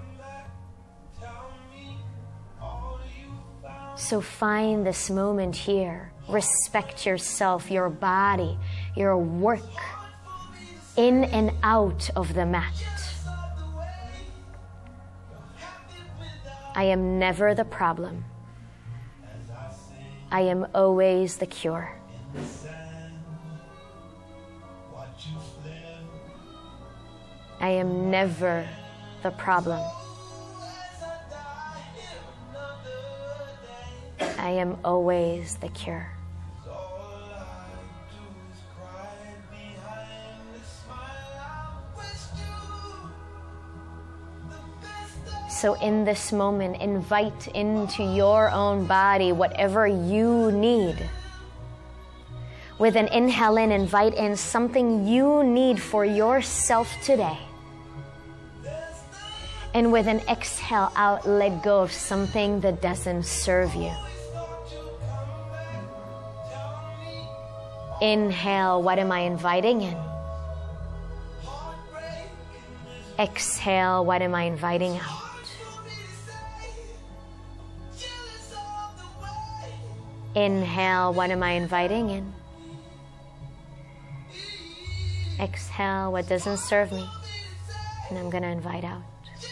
So find this moment here. Respect yourself, your body, your work, in and out of the mat. I am never the problem. I am always the cure. I am never the problem. I am always the cure. So in this moment, invite into your own body whatever you need With an inhale in, invite in something you need for yourself today. And with an exhale out, let go of something that doesn't serve you. Inhale, what am I inviting in? Exhale, what am I inviting out? Inhale, what am I inviting in? Exhale, what doesn't serve me, and I'm going to invite out.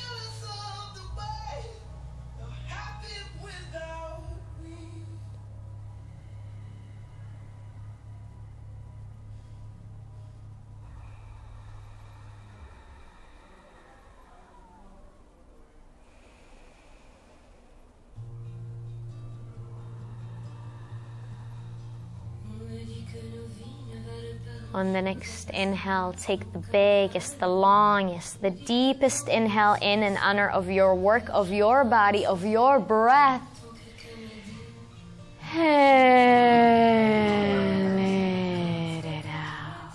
On the next inhale, take the biggest, the longest, the deepest inhale in honor of your work, of your body, of your breath. And let it out.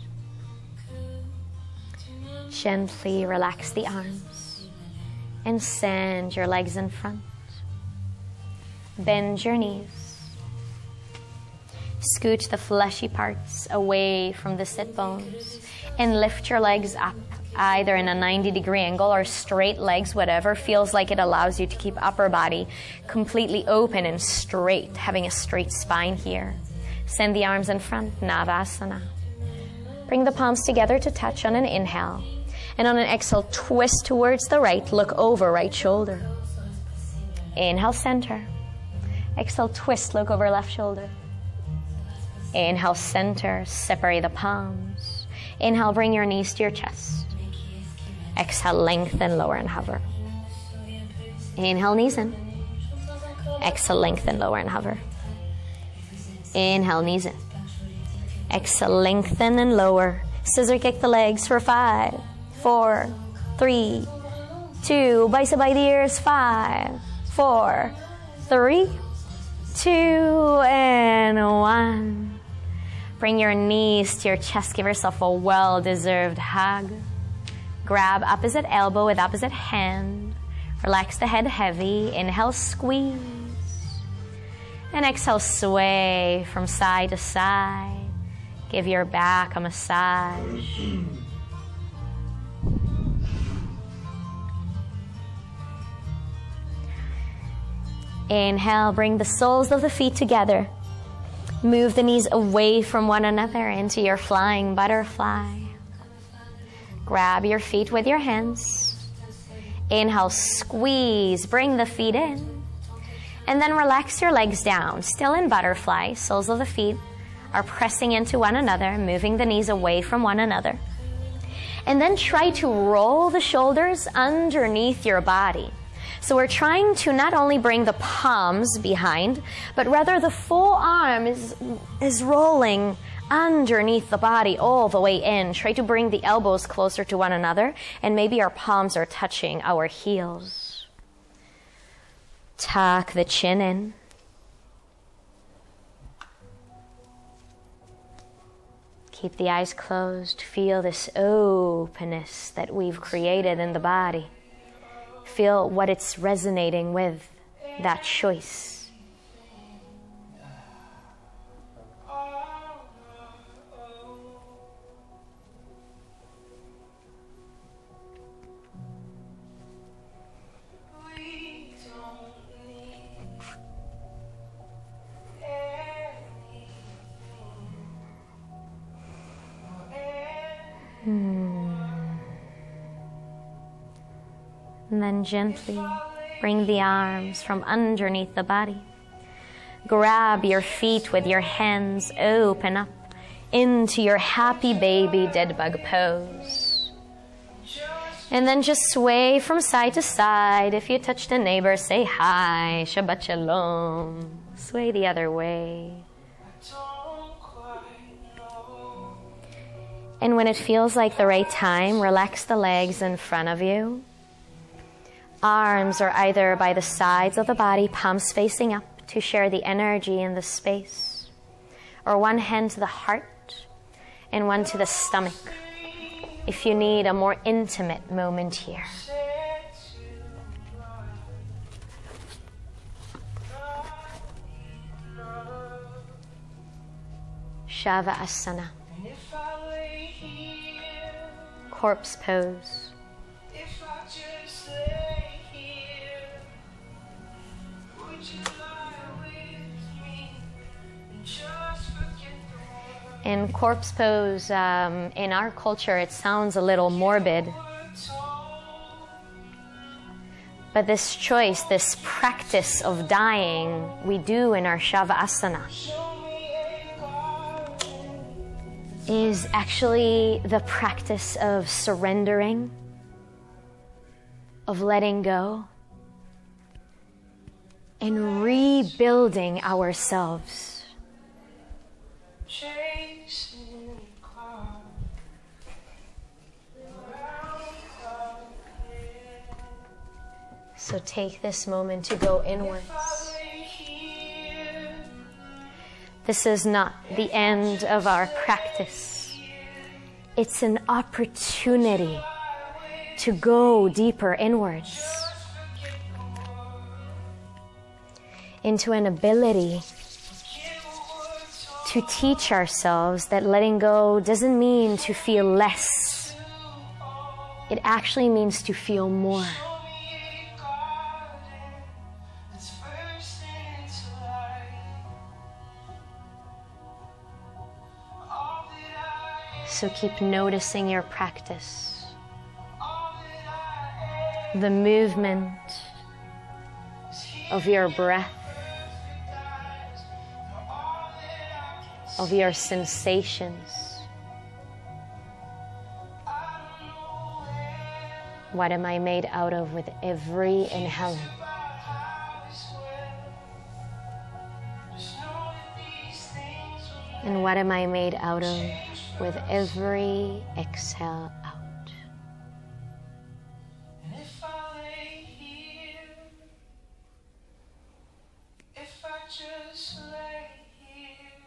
Gently relax the arms and send your legs in front. Bend your knees. Scooch the fleshy parts away from the sit bones and lift your legs up, either in a 90-degree angle or straight legs, whatever feels like it allows you to keep upper body completely open and straight, having a straight spine here. Send the arms in front, Navasana. Bring the palms together to touch on an inhale. And on an exhale, twist towards the right, look over right shoulder. Inhale, center. Exhale, twist, look over left shoulder. Inhale, center, separate the palms. Inhale, bring your knees to your chest. Exhale, lengthen, lower and hover. Inhale, knees in. Exhale, lengthen, lower and hover. Inhale, knees in. Exhale, lengthen and lower. Scissor kick the legs for 5, 4, 3, 2. Bicep by the ears, 5, 4, 3, 2, and 1. Bring your knees to your chest. Give yourself a well-deserved hug. Grab opposite elbow with opposite hand. Relax the head heavy. Inhale, squeeze. And exhale, sway from side to side. Give your back a massage. Inhale, bring the soles of the feet together. Move the knees away from one another into your flying butterfly. Grab your feet with your hands. Inhale, squeeze, bring the feet in. And then relax your legs down, still in butterfly. Soles of the feet are pressing into one another, moving the knees away from one another. And then try to roll the shoulders underneath your body. So we're trying to not only bring the palms behind, but rather the full arm is rolling underneath the body all the way in. Try to bring the elbows closer to one another, and maybe our palms are touching our heels. Tuck the chin in. Keep the eyes closed. Feel this openness that we've created in the body. Feel what it's resonating with, that choice. And then gently bring the arms from underneath the body. Grab your feet with your hands, open up into your happy baby dead bug pose. And then just sway from side to side. If you touch the neighbor, say hi, Shabbat Shalom. Sway the other way. And when it feels like the right time, relax the legs in front of you. Arms are either by the sides of the body, palms facing up to share the energy in the space. or one hand to the heart and one to the stomach if you need a more intimate moment here. Shavasana. Corpse pose. In corpse pose, in our culture, it sounds a little morbid. But this choice, this practice of dying, we do in our Shavasana, is actually the practice of surrendering, of letting go, and rebuilding ourselves. So take this moment to go inwards. This is not the end of our practice. It's an opportunity to go deeper inwards into an ability to teach ourselves that letting go doesn't mean to feel less. It actually means to feel more. So keep noticing your practice, the movement of your breath, of your sensations. What am I made out of with every inhaling? And what am I made out of with every exhale out? And if I lay here, if I just lay here,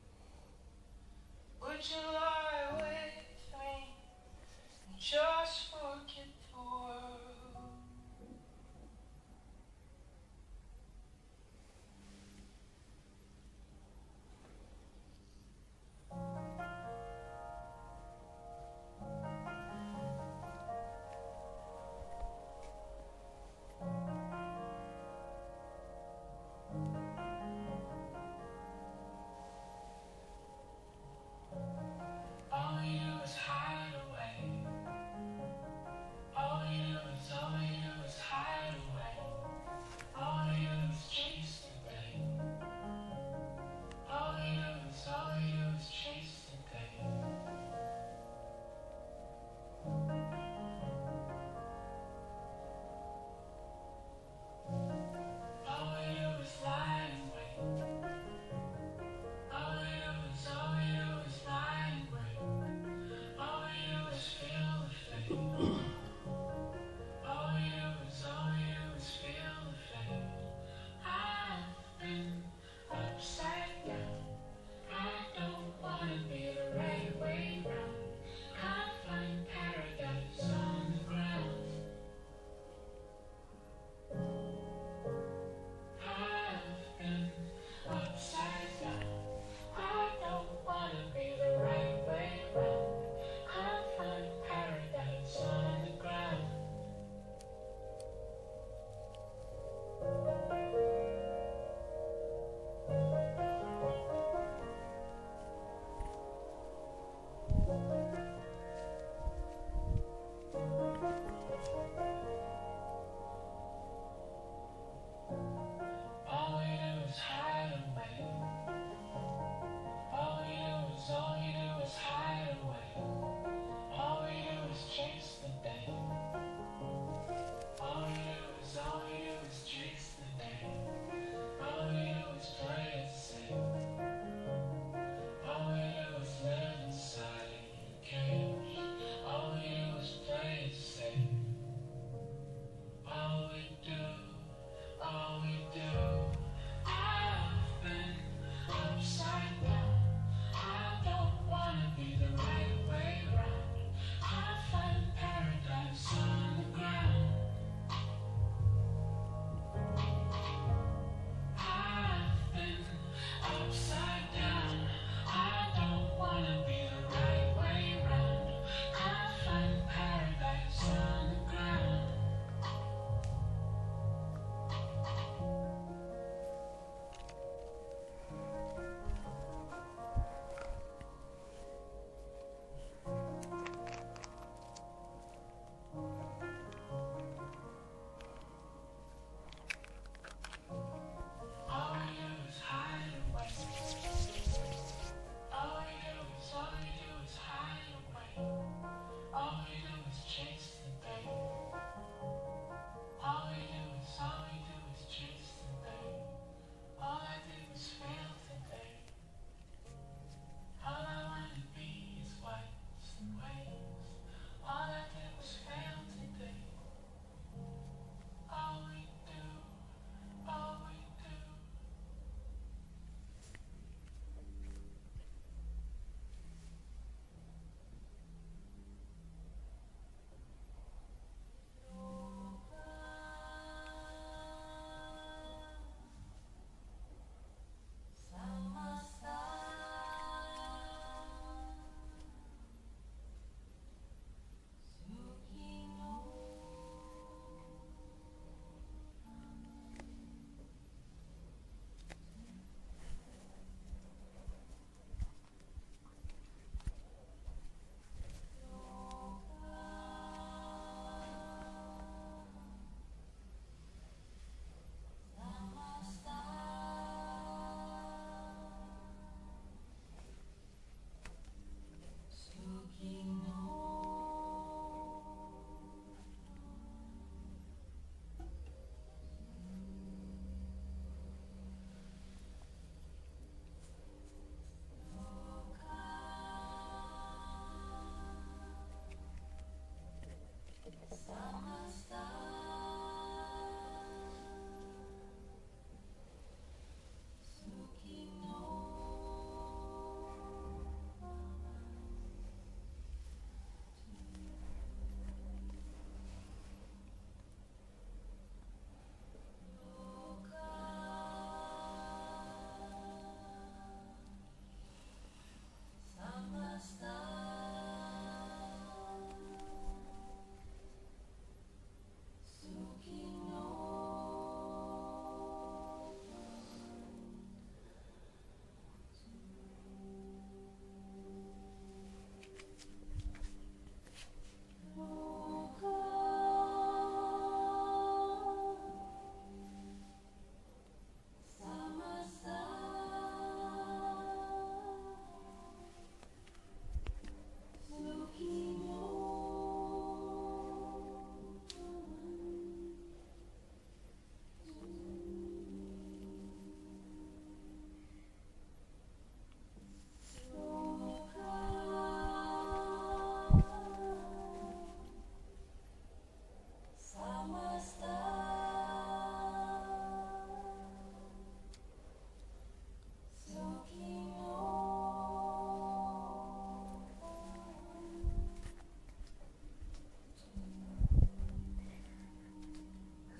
would you lie with me and just forget the world?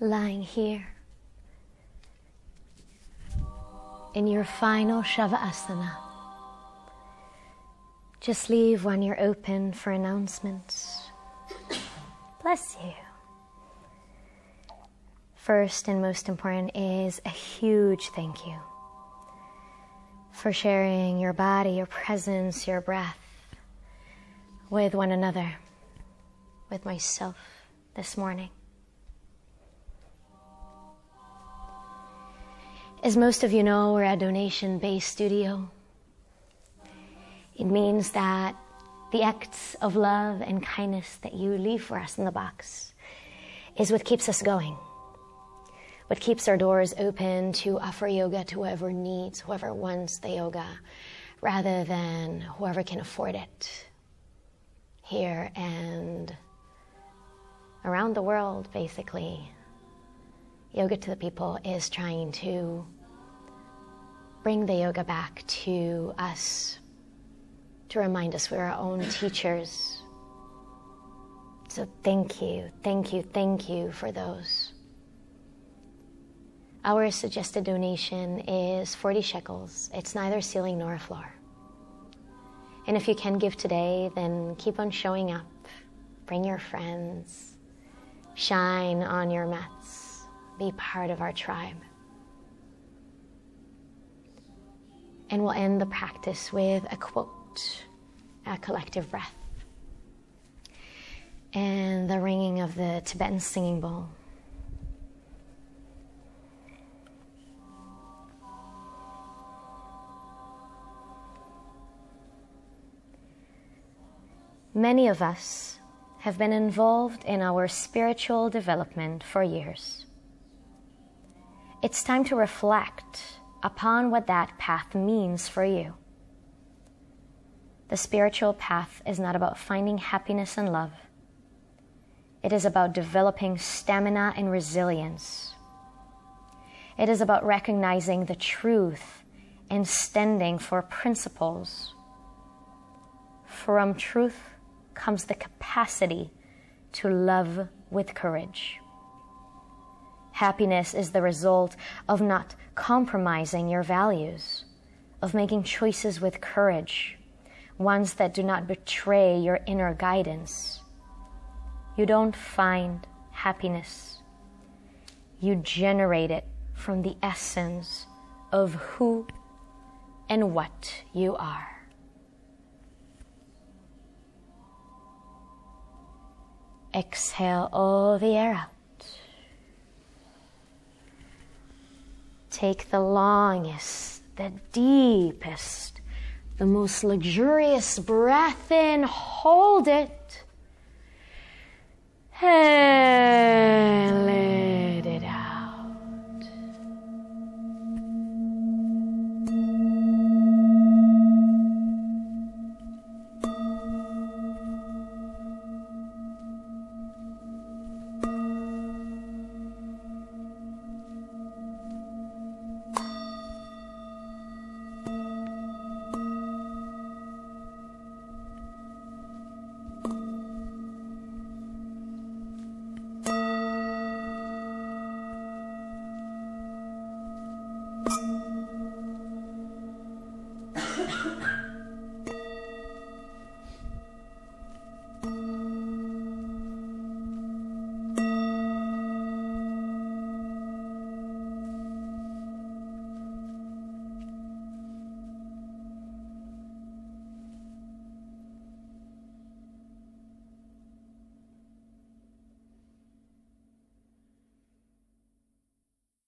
lying here in your final Shavasana. Just leave when you're open for announcements. Bless you. First and most important is a huge thank you for sharing your body, your presence, your breath with one another, with myself this morning. As most of you know, we're a donation-based studio. It means that the acts of love and kindness that you leave for us in the box is what keeps us going, what keeps our doors open to offer yoga to whoever needs, whoever wants the yoga, rather than whoever can afford it. Here and around the world, basically, Yoga to the People is trying to bring the yoga back to us, to remind us we're our own teachers. So thank you, thank you, thank you for those. Our suggested donation is 40 shekels. It's neither ceiling nor a floor. And if you can give today, then keep on showing up. Bring your friends. Shine on your mats. Be part of our tribe. And we'll end the practice with a quote, a collective breath, and the ringing of the Tibetan singing bowl. Many of us have been involved in our spiritual development for years. It's time to reflect upon what that path means for you. The spiritual path is not about finding happiness and love. It is about developing stamina and resilience. It is about recognizing the truth and standing for principles. From truth comes the capacity to love with courage. Happiness is the result of not compromising your values, of making choices with courage, ones that do not betray your inner guidance. You don't find happiness. You generate it from the essence of who and what you are. Exhale all the air out. Take the longest, the deepest, the most luxurious breath in. Hold it. And